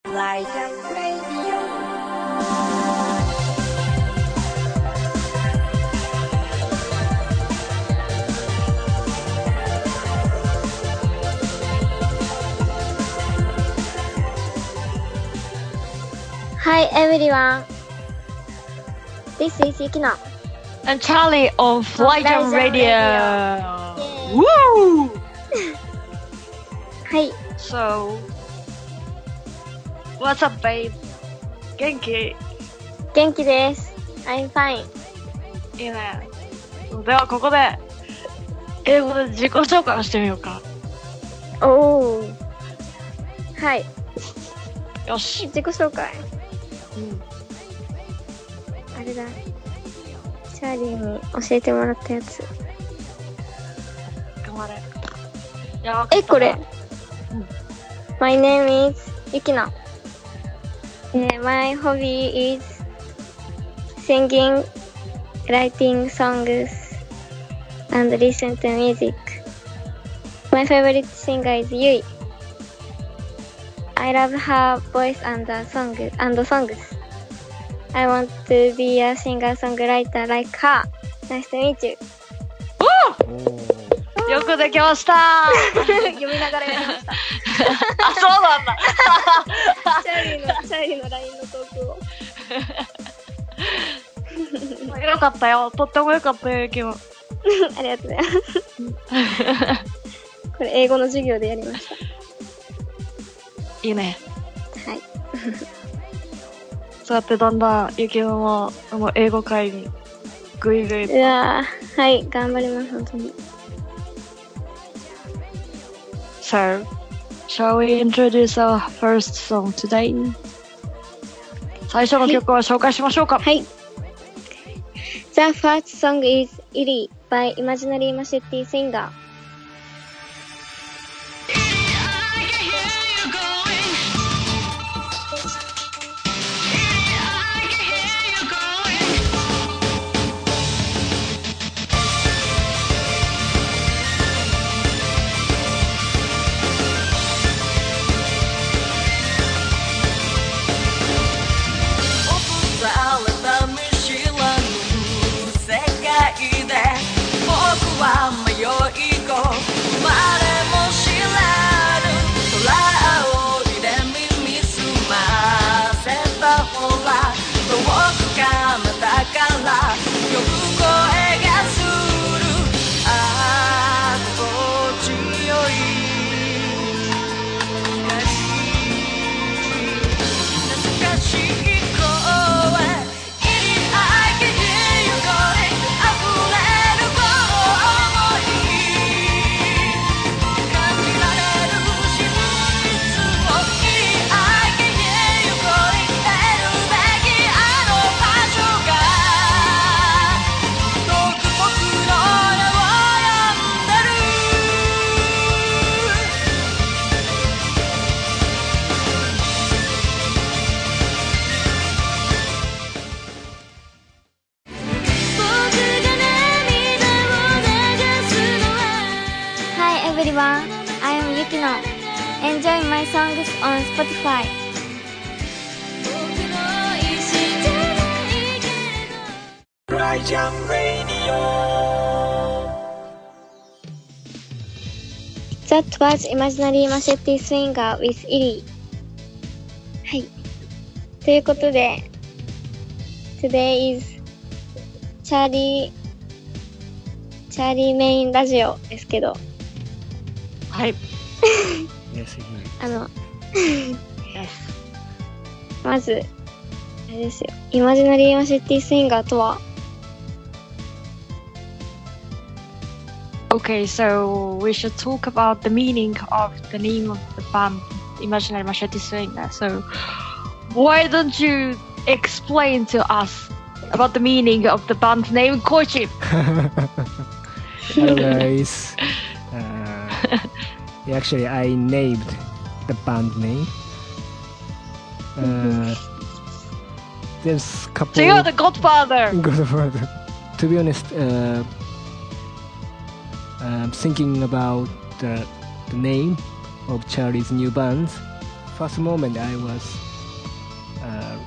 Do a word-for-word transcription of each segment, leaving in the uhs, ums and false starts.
Light Radio. Hi everyone, this is Yukino and Charlie on Fly Jam Radio. Radio. Woo! Hi. So, what's up, babe? 元気？ 元気です。I'm fine. いいね。ではここで英語で自己紹介をしてみようか。 おー。はい。 よし。 自己紹介。 うん。 あれだ。チャーリーに教えてもらったやつ。 頑張れ。いや、 え、これ。 うん、 My name is Yukino. My hobby is singing, writing songs, and listen to music. My favorite singer is Yui. I love her voice and songs. And songs. I want to be a singer-songwriter like her. Nice to meet you. よくできました読みながらやりました。 あ、そうなんだ。 チャーリーのチャーリーの ライン のトークを。 よかったよ。とってもよかったよ、今日。 ありがとうございます。これ英語の授業でやりました。 いいね。 はい。 そうやってだんだんゆきのもあの英語会にぐいぐいと。 うわー、はい、頑張ります本当に。 So, shall we introduce our first song today? 最初の曲を紹介しましょうか。 はい。The first song is Illy by Imaginary Machete Singer.That was Imaginary Machete Singer with Illy. はい。ということで、Today is Charlie, Charlie メインラジオですけど。 はい。 あの、まず、あれですよ。Imaginary Machete Singer とは Okay, so we should talk about the meaning of the name of the band, Imaginary Machete Singer. So, why don't you explain to us about the meaning of the band name, Koichi? Hello guys. Uh, actually, I named the band name. Uh, there's couple. So you're the Godfather. Godfather. To be honest, uh, I'm thinking about the, the name of Charlie's new band first moment I was uh,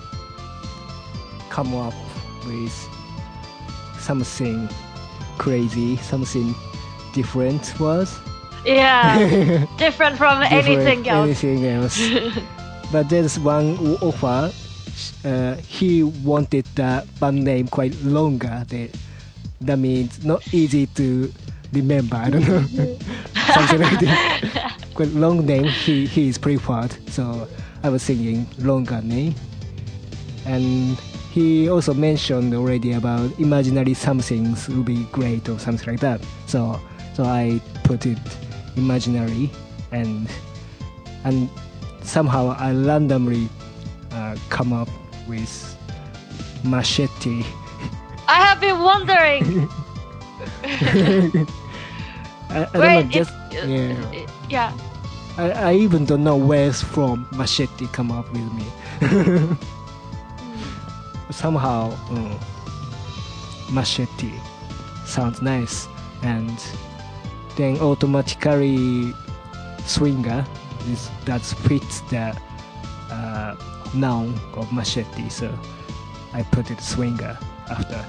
come up with something crazy, something different was. Yeah, different from different anything else. Anything else. But there's one offer. Uh, he wanted the band name quite longer. That, that means not easy to remember. I don't know. Something like that. Quite long name. He he is preferred. So I was thinking longer name. And he also mentioned already about imaginary somethings would be great or something like that. So so I put it imaginary, and and somehow I randomly uh, come up with machete. I have been wondering. I, I Wait, don't know, just it, yeah. it- yeah. I, I even don't know where's from machete come up with me. Somehow um, machete sounds nice, and then automatically swinger is that fits the uh, noun of machete, so I put it swinger after.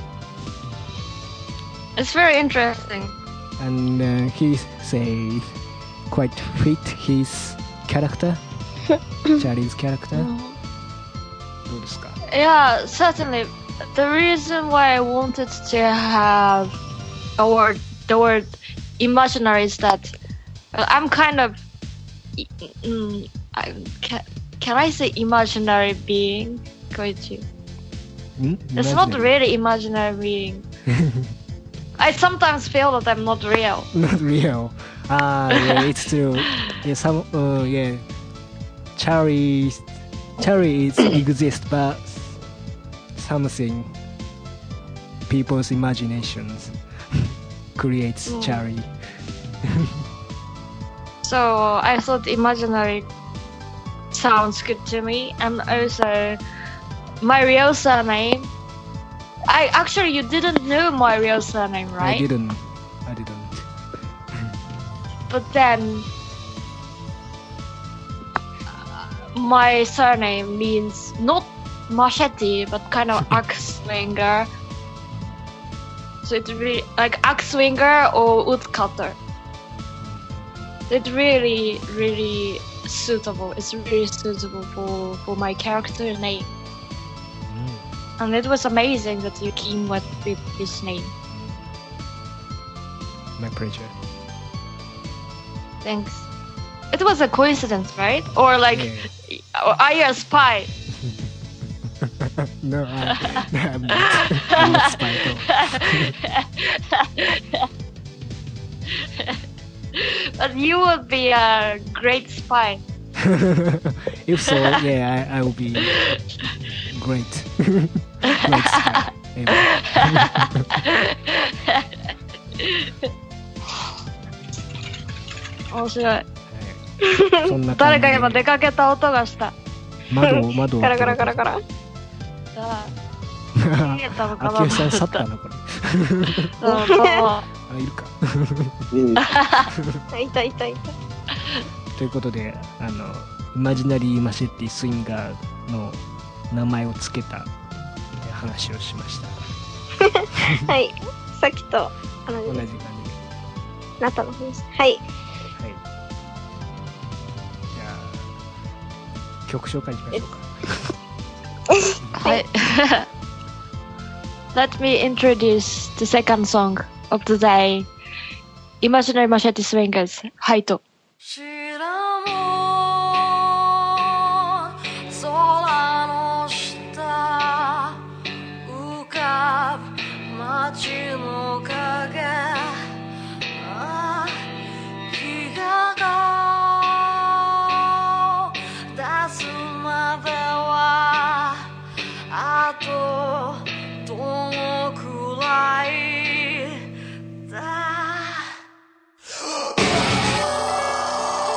It's very interesting. And uh, he say quite fit his character, Charlie's character. どうですか? Yeah, certainly. The reason why I wanted to have a word, the word imaginary is that uh, I'm kind of, mm, I, can, can I say imaginary being? Going to. Hmm? It's not Imaginary. really imaginary being. I sometimes feel that I'm not real. Not real. Ah, yeah, it's true. Yeah, some, uh, yeah. Charlie, Charlie is exist, but something people's imaginations creates Mm. Charlie. So I thought imaginary sounds good to me, and also my real surname. I actually you didn't know my real surname, right? I didn't. I didn't. But then uh, my surname means not machete, but kind of axe swinger. So it's really like axe swinger or woodcutter. It's really, really suitable. It's really suitable for, for my character name. Mm. And it was amazing that you came with, with this name. My pleasure. Thanks. It was a coincidence, right? Or like, Yeah. or are you a spy? No, I, I'm not. I'm not spy at all. But you would be a great spy. If so, yeah, I, I will be great. Great spy. Ever. 面白い。 はいそんな感じで誰か今出かけた音がした。 窓を窓をガラガラガラガラ。 あ逃げたのかな秋吉さん去ったなこれ。 そうそう。 あいるか。 あ、いたいたいた。 ということで、あのイマジナリーマシェッティスインガーの名前をつけたって話をしました。 はい。さっきと同じです。 同じ感じで。 なったの話。はい。 はい。じゃあ曲紹介しましょうか。 はい。Let me introduce the second song of the day. Imaginary Machete Swingers, ハイト。 白も空の下浮かぶ街の影ああ日が顔出すまではあとどのくらいだ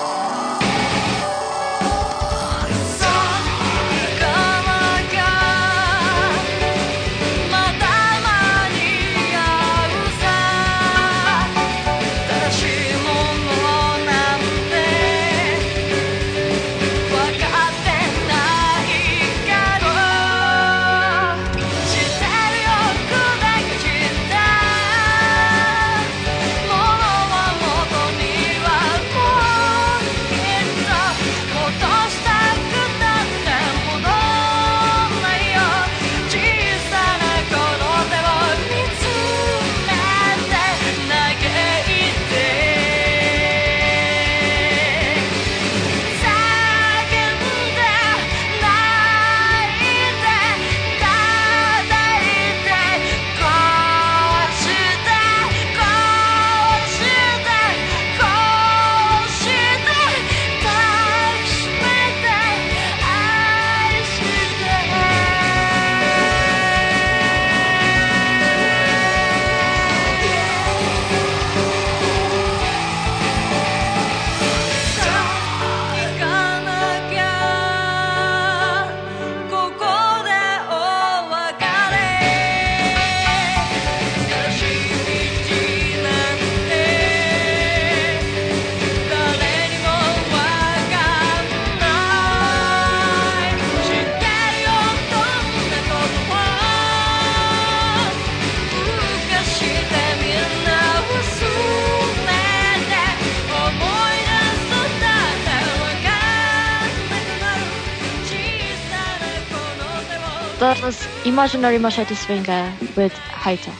That was Imaginary Machete Swinger with Haito.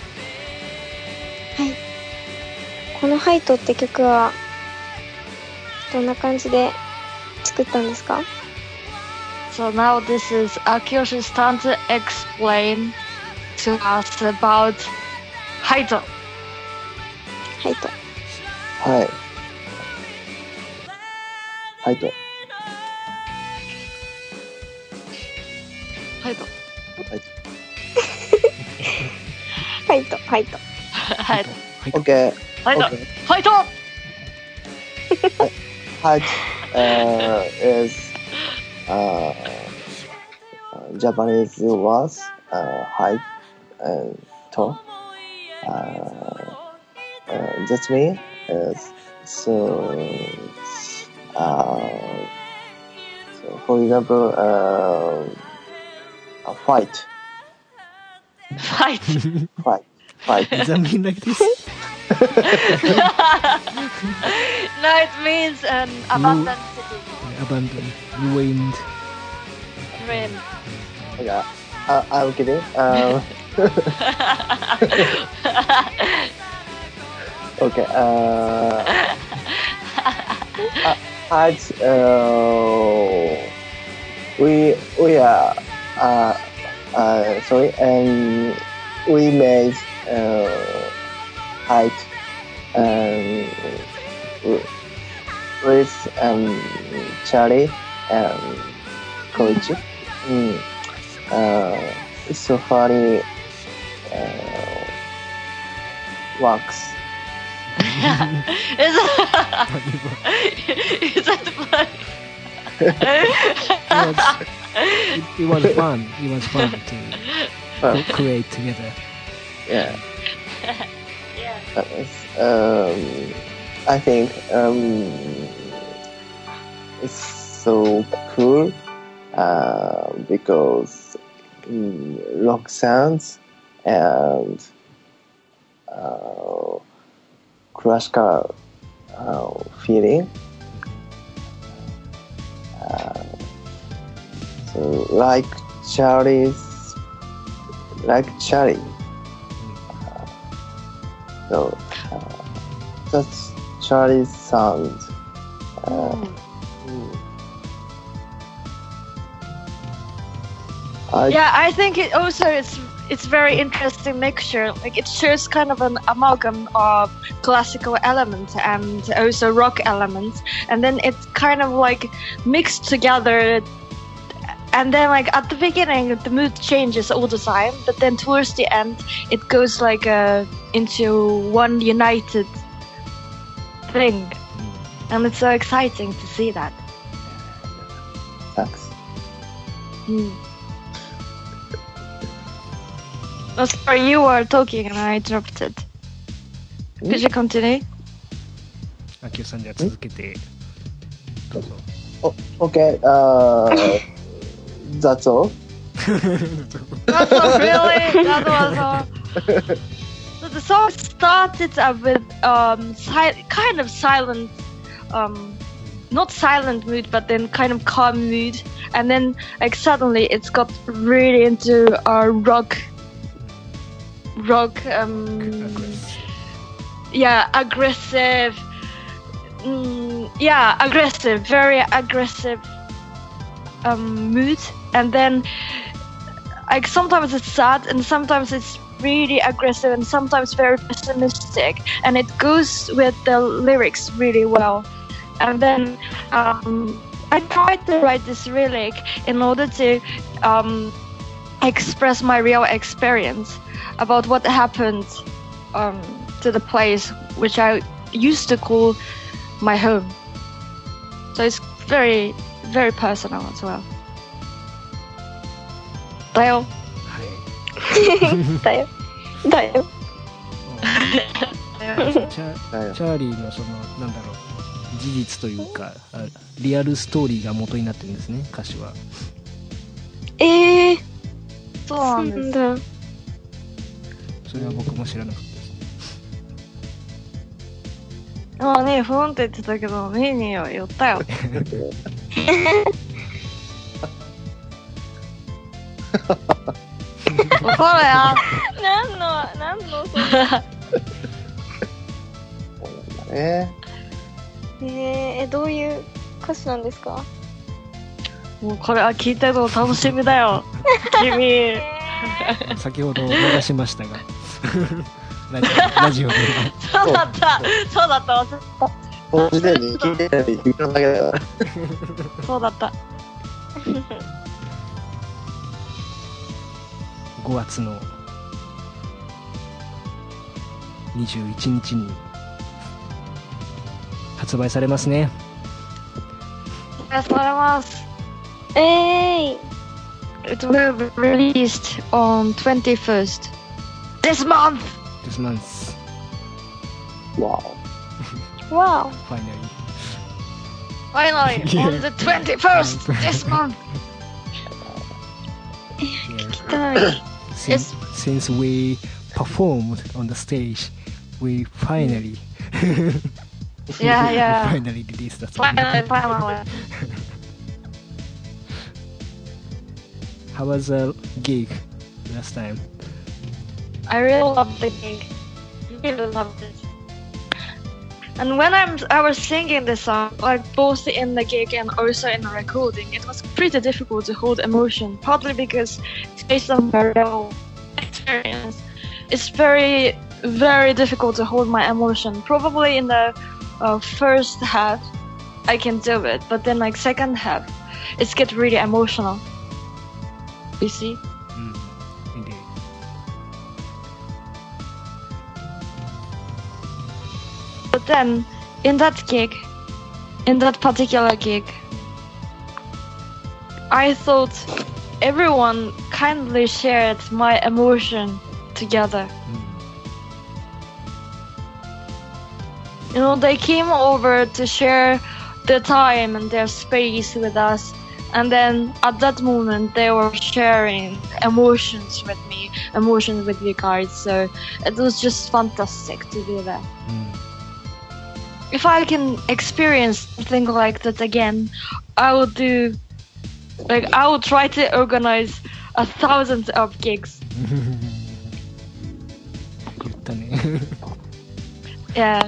はい。このハイトって曲は、どんな感じで作ったんですか？ So now this is Akiyoshi's turn to explain to us about Haito. ハイト。 はい。はいと。 ハイト。 はい。 ハイト、ハイト。 ハイト。 オッケー。 ハイト。ハイト。 はい。Uh, is uh, Japanese words uh, height and to. Uh, uh, that means is so. Uh, so for example, uh, a fight, Fight. fight, fight. Does that mean like this? No, it means an abandoned city. Abandoned, ruined. Ruin. Yeah, uh, I'm kidding. Um, okay. Uh, uh, at uh, we we are uh, uh, sorry, and we made uh, height um, with um, Charlie and Koichi. Mm. Uh, it's so funny uh, works. Is that, is that funny? It was, it, it was fun. It was fun to Uh, co- create together. yeah. Yeah. Uh, um, I think um, it's so cool uh, because um, rock sounds and uh, classical uh, feeling. Uh, so like Charlie's, like Charlie. Uh, so uh, that's Charlie's sound. Uh, mm. I, Yeah, I think it also it's it's very interesting mixture. Like it shows kind of an amalgam of classical elements and also rock elements, and then it's kind of like mixed together. And then like at the beginning, the mood changes all the time, but then towards the end, it goes like uh, into one united thing, and it's so exciting to see that. thanks. Hmm. Oh, sorry, you were talking and I interrupted. Could you continue? あきおさんじゃあ続けてどうぞ。 Okay, uh, that's all. That's not really. That was all. So the song started uh, with um si- kind of silent, um, not silent mood, but then kind of calm mood, and then like suddenly it's got really into a rock, rock, um, yeah, aggressive. Mm, yeah, aggressive, very aggressive um, mood, and then like sometimes it's sad, and sometimes it's really aggressive, and sometimes very pessimistic, and it goes with the lyrics really well. And then um, I tried to write this lyric in order to um, express my real experience about what happened um, to the place which I used to call my home. So it's very, very personal as well. だよ。 はい。 だよ。だよ。 チャチャーリーのそのなんだろう事実というかあリアルストーリーが元になってるんですね歌詞は。 ええー。 そうなそうんです。 なんだ。 それは僕も知らなかったです。 まあね、ふーんって言ってたけど、ねえねえよ、寄ったよ。 怒るよ。 何の、何の、そんな。 そうなんだね。 えー、え、どういう歌詞なんですか？ もうこれは聞いてるの楽しみだよ。君。 え先ほど流しましたがラジオラジオでそうだった。そうだった。忘れこの時点で聞いてたり、聞くだけだから。 た。そうだった。 ごがつのにじゅういちにちに発売されますね。 ありがとうございます。 ー、えー、 It will be released on twenty-first this month. This month, わわ finally. Finally, Yeah. on the twenty-first this month. Yeah. お、たい。 Since, since we performed on the stage, we finally Yeah, yeah. finally released that song. Finally, finally. How was the gig last time? I really loved the gig. Really loved it. And when I'm, I was singing this song, like both in the gig and also in the recording, it was pretty difficult to hold emotion. Partly because it's based on my real experience. It's very, very difficult to hold my emotion. Probably in the uh, first half, I can do it, but then like second half, it's get really emotional. You see? Mm, indeed. But then, in that gig, in that particular gig, I thought everyone kindly shared my emotion together. Mm. You know, they came over to share their time and their space with us. And then at that moment, they were sharing emotions with me, emotions with you guys. So it was just fantastic to do that. Mm. If I can experience something like that again, I will do, like, I will try to organize a thousand of gigs. 言ったね。 Yeah.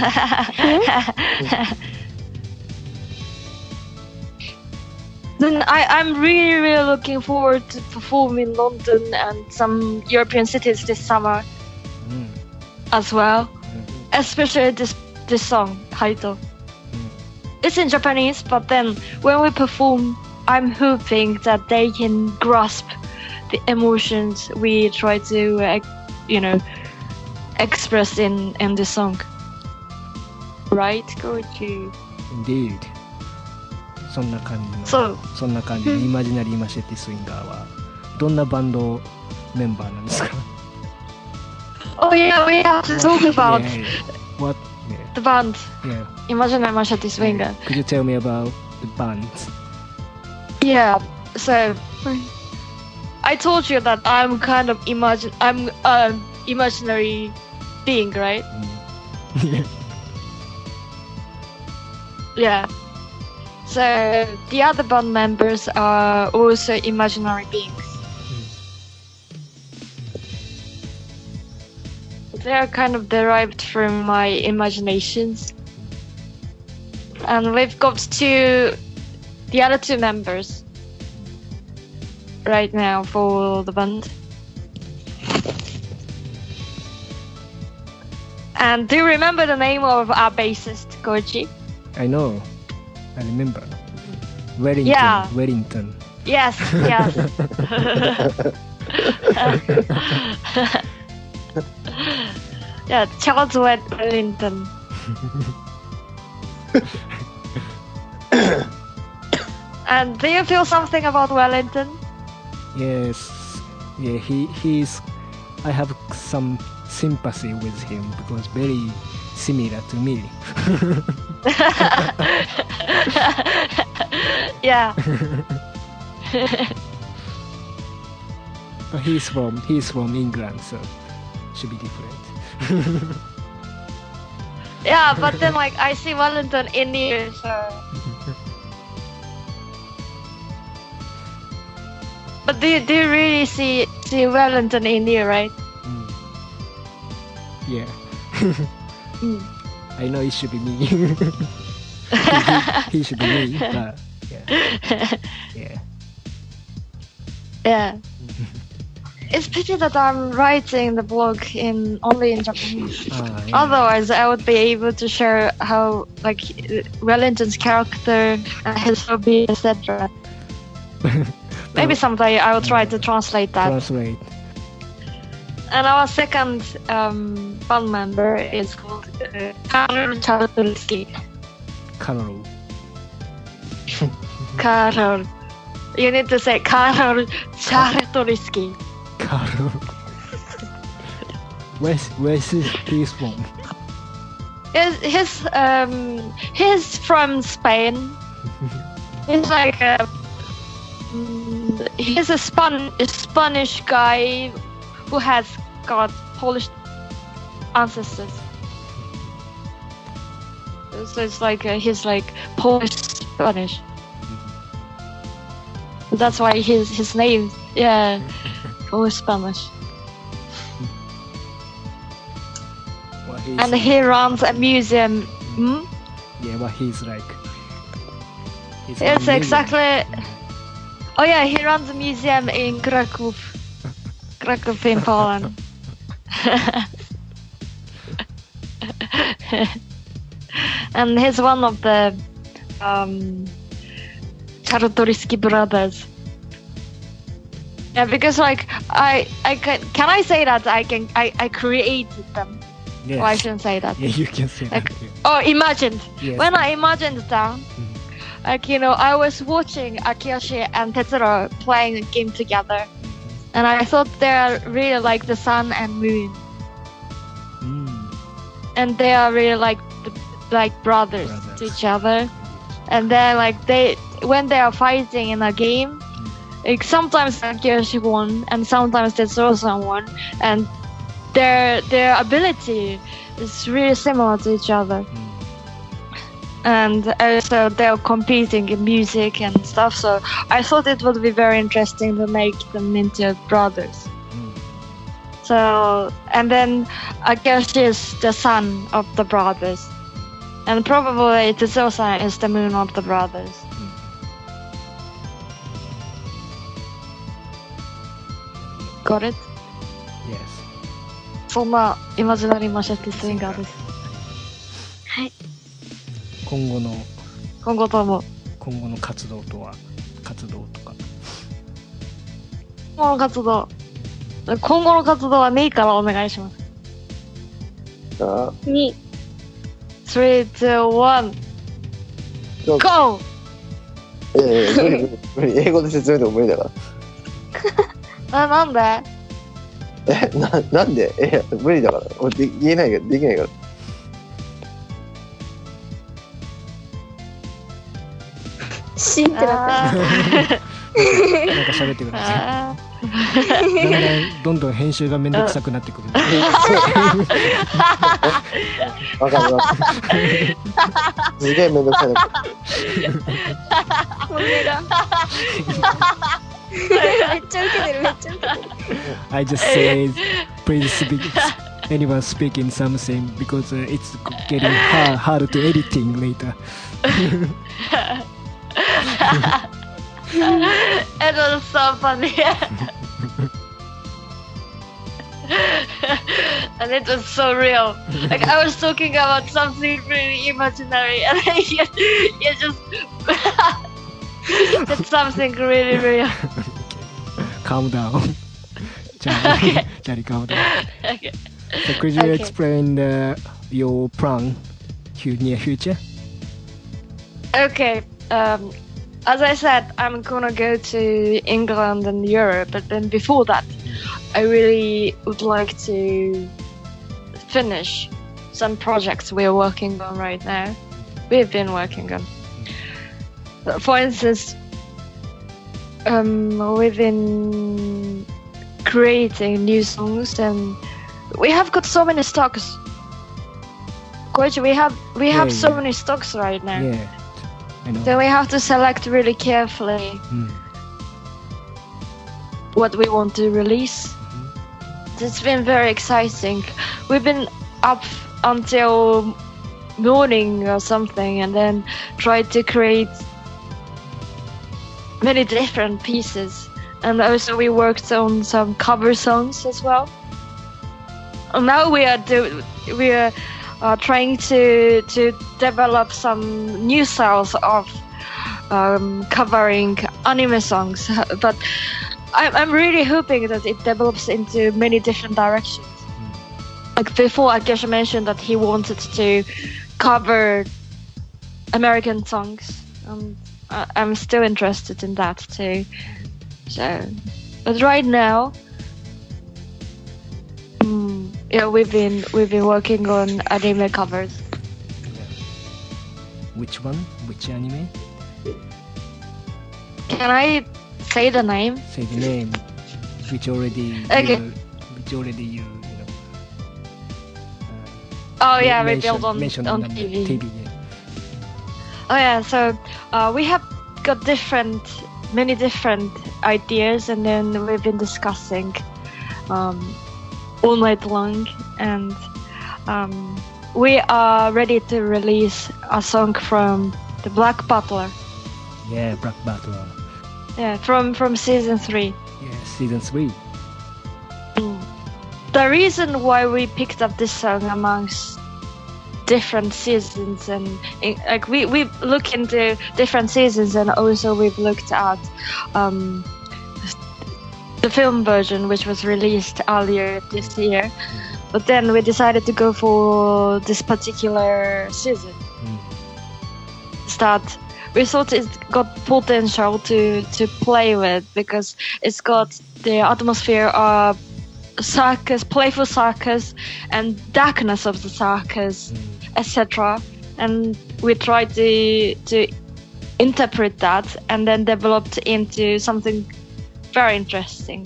Then I, I'm really, really looking forward to perform in London and some European cities this summer うん as well. うん Especially this this song, Haito. うん It's in Japanese, but then when we perform, I'm hoping that they can grasp the emotions we try to, uh, you know, express in in the song. Right, Koichi? Indeed. そんな感じの、 So, そんな感じのイマジナリーマシェティスインガーはどんなバンドメンバーなんですか？ oh yeah, we have to talk about Yeah, what? the band. Yeah, Imaginary Machete Swinger. Could you tell me about the band? Yeah. So, I told you that I'm kind of imagine. I'm an imaginary being, right? うん Yeah. So the other band members are also imaginary beings. They are kind of derived from my imaginations. And we've got two, the other two members right now for the band. And do you remember the name of our bassist, Koichi? I know. I remember. Wellington. Yeah. Wellington. Yes, yes. Yeah, Charles Wellington. And do you feel something about Wellington? Yes. Yeah, he he's. I have some sympathy with him because very similar to me. Yeah. But he's from he's from England, so should be different. Yeah, but then like I see Wellington in you, so. But do you, do you really see see Wellington in you, right? Mm. Yeah. Mm. I know it should be me. he, he, he should be me, but yeah. Yeah. Yeah. It's pity that I'm writing the blog in only in Japanese. Ah, yeah. Otherwise, I would be able to share how, like, Wellington's character, and his hobby, et cetera. Maybe someday I will try to translate that. Translate. And our second um, band member is called uh, Karol Czartoryski. Karol. Karol. You need to say Karol Czartoryski. Karol. Where's where's his, he's from? He's, he's, um, he's from Spain. He's like a, mm, he's a, Span- a Spanish guy who has got Polish ancestors. So it's like uh, he's like Polish Spanish. That's why his his name, yeah, Polish Spanish. Well, he's And he runs a museum. Hmm? yeah, but he's like. He's It's amazing. exactly. Oh yeah, he runs a museum in Kraków. Kraków in Poland. And he's one of the um, Czartoryski brothers. Yeah, because like I, I can, can I say that I can, I, I created them. Yes. Oh, I shouldn't say that. Yeah, you can say that. Like, oh, imagined. Yes. When I imagined them, like, you know, I was watching Akiyoshi and Tetsuro playing a game together, and I thought they are really like the sun and moon, Mm. and they are really like the, like brothers, Brothers. to each other. And then like they, when they are fighting in a game, like sometimes Akiyoshi won and sometimes Tetsuro won, and their their ability is really similar to each other. Mm. And also they're competing in music and stuff, so I thought it would be very interesting to make them into brothers. Mm. So, and then Akiyoshi is the son of the brothers, and probably Tetsuro is the moon of the brothers. Got it? Yes. そんなイマジナリーマシェティスインガーです。 今後の今後とも今後の活動とは活動とか。 今後の活動今後の活動はメイからお願いします。 あに、 スリー、ツー、ワン、 どうぞ GO! いやいや、無理無理無理。英語で説明でも無理だかな、なんでら。え、な、なんでいや、無理だから。俺で言えないから、できないから。 シンってなった。 あなんか喋ってくださあい。だんだんどんどん編集がめんどくさくなってくる。 わかるわかる。すげえめんどくさいな。 本音が。めっちゃウケてる、めっちゃウケてる。 I just said, please speak, anyone speaking something because uh, it's getting hard, hard to editing later. It was so funny. And it was so real. Like I was talking about something really imaginary, and then you, you just did something really real. Calm down. Charlie, Charlie, calm down. Okay. So could you Okay. explain uh, your plan for near future? Okay. Um, as I said, I'm gonna go to England and Europe, but then before that, I really would like to finish some projects we're working on right now. We've been working on. For instance, um, we've been creating new songs, and we have got so many stocks. Koichi, we have we Yeah, have so yeah. many stocks right now. Yeah, I know. So we have to select really carefully. Mm. what we want to release. It's been very exciting. We've been up until morning or something, and then tried to create many different pieces. And also we worked on some cover songs as well. And now we are do we are uh, trying to to develop some new styles of um, covering anime songs, but I'm I'm really hoping that it develops into many different directions. Like before, Akesha mentioned that he wanted to cover American songs. Um, I, I'm still interested in that too. So, but right now, um, yeah, we've been we've been working on anime covers. Which one? Which anime? Can I say the name? Say the name. Which already. Okay. You, which already you. you know, Oh uh, yeah, we mentioned- built on mentioned on the T V. T V, yeah. Oh yeah, so uh, we have got different, many different ideas, and then we've been discussing um, all night long, and um, we are ready to release a song from the Black Butler. Yeah, Black Butler. Yeah, from from season three. Yeah, season three. The reason why we picked up this song amongst different seasons, and eh, like we we look into different seasons, and also we've looked at um, the film version, which was released earlier this year. But then we decided to go for this particular season. That we thought it got potential to to play with, because it's got the atmosphere of circus, playful circus, and darkness of the circus, et cetera. And we tried to to interpret that, and then developed into something very interesting.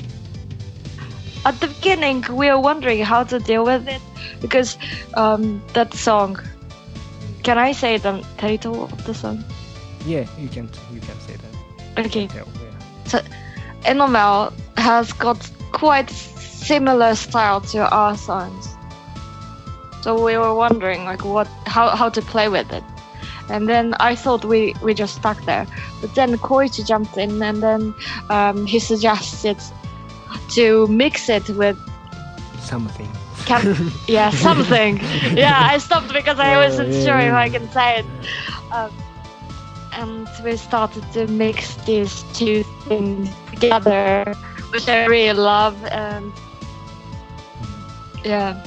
At the beginning, we were wondering how to deal with it, because um, that song. Can I say the title of the song? Yeah, you can you can say that. Okay. Tell, yeah. So, Enomel has got quite similar style to our songs. So we were wondering like what how, how to play with it. And then I thought we, we just stuck there. But then Koichi jumped in, and then um, he suggested to mix it with Something. Can, yeah, something. Yeah, I stopped because I wasn't yeah, sure if yeah. I can say it. Um, and we started to mix these two things together, which I really love. And yeah,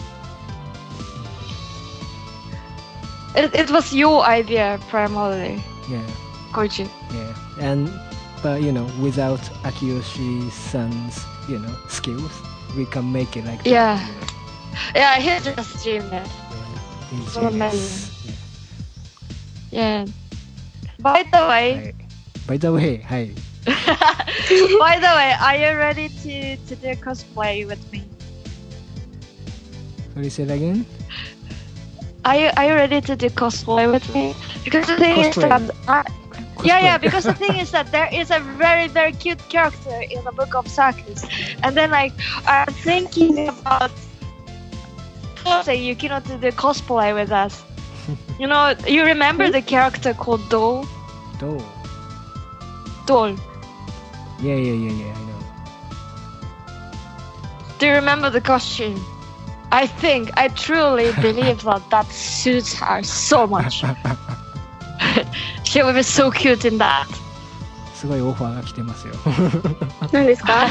it it was your idea primarily, Yeah, Koichi. yeah. And but you know, without Akiyoshi-san's you know skills, we can make it like that, Yeah. you know. Yeah, he just dreamed it. Yeah, he's So genius. amazing. Yeah. By the way. はい By the way, はい。 By the way, are you ready to, to do cosplay with me? Sorry, say it again? Are you are you ready to do cosplay with me? Because the thing is Cosplay. that I, yeah, yeah. Cosplay. Because the thing is that there is a very very cute character in the Book of Circus, and then like I'm thinking about say you cannot do the cosplay with us. You know, you remember the character called Doll? Do. Doll. Yeah, yeah, yeah, yeah, I know. Do you remember the costume? I think, I truly believe that that suits her so much. She will be so cute in that. すごいオファーが来てますよ。 何ですか？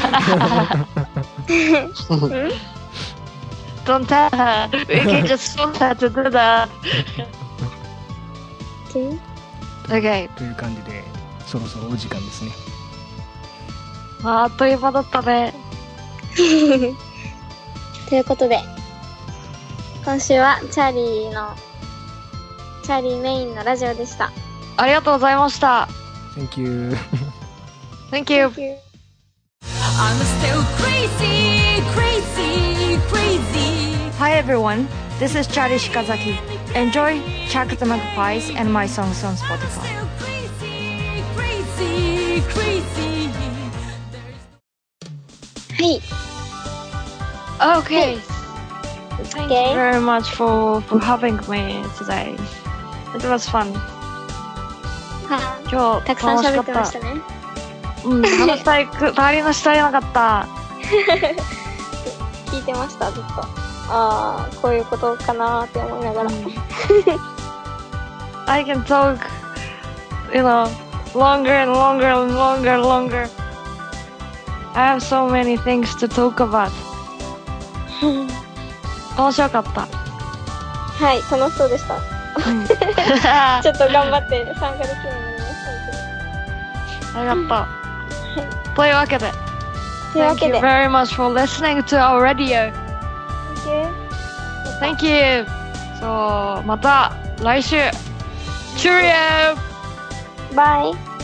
Don't tell her. We can just force her to do that. Okay. という感じで、そろそろお時間ですね。 あっという間だったね。 ということで、今週はチャーリーの、チャーリーメインのラジオでした。 ありがとうございました。 Thank you. Thank you. I'm still crazy, crazy, crazy. Hi everyone. This is Chari Shikazaki. Enjoy Chuck the Magpies and my songs on Spotify. Still crazy, crazy, crazy. い。 Okay. Thank Okay. you very much for, for having me today. It was fun. は今日たくさん楽しか喋ってまった。 したね。 うん、話したいく、足りのしたいなかった。 聞いてました、ずっと。ああ、こういうことかなーって思いながら。 I can talk, you know, longer and longer and longer and longer. I have so many things to talk about. 面白かった。 はい、楽しそうでした。 うんちょっと頑張って参加できるようになりました。 ありがとう。というわけで、 というわ Thank け you で、 very much for listening to our radio. Thank Thank you. そう、また来週。Cheerio! you. Bye.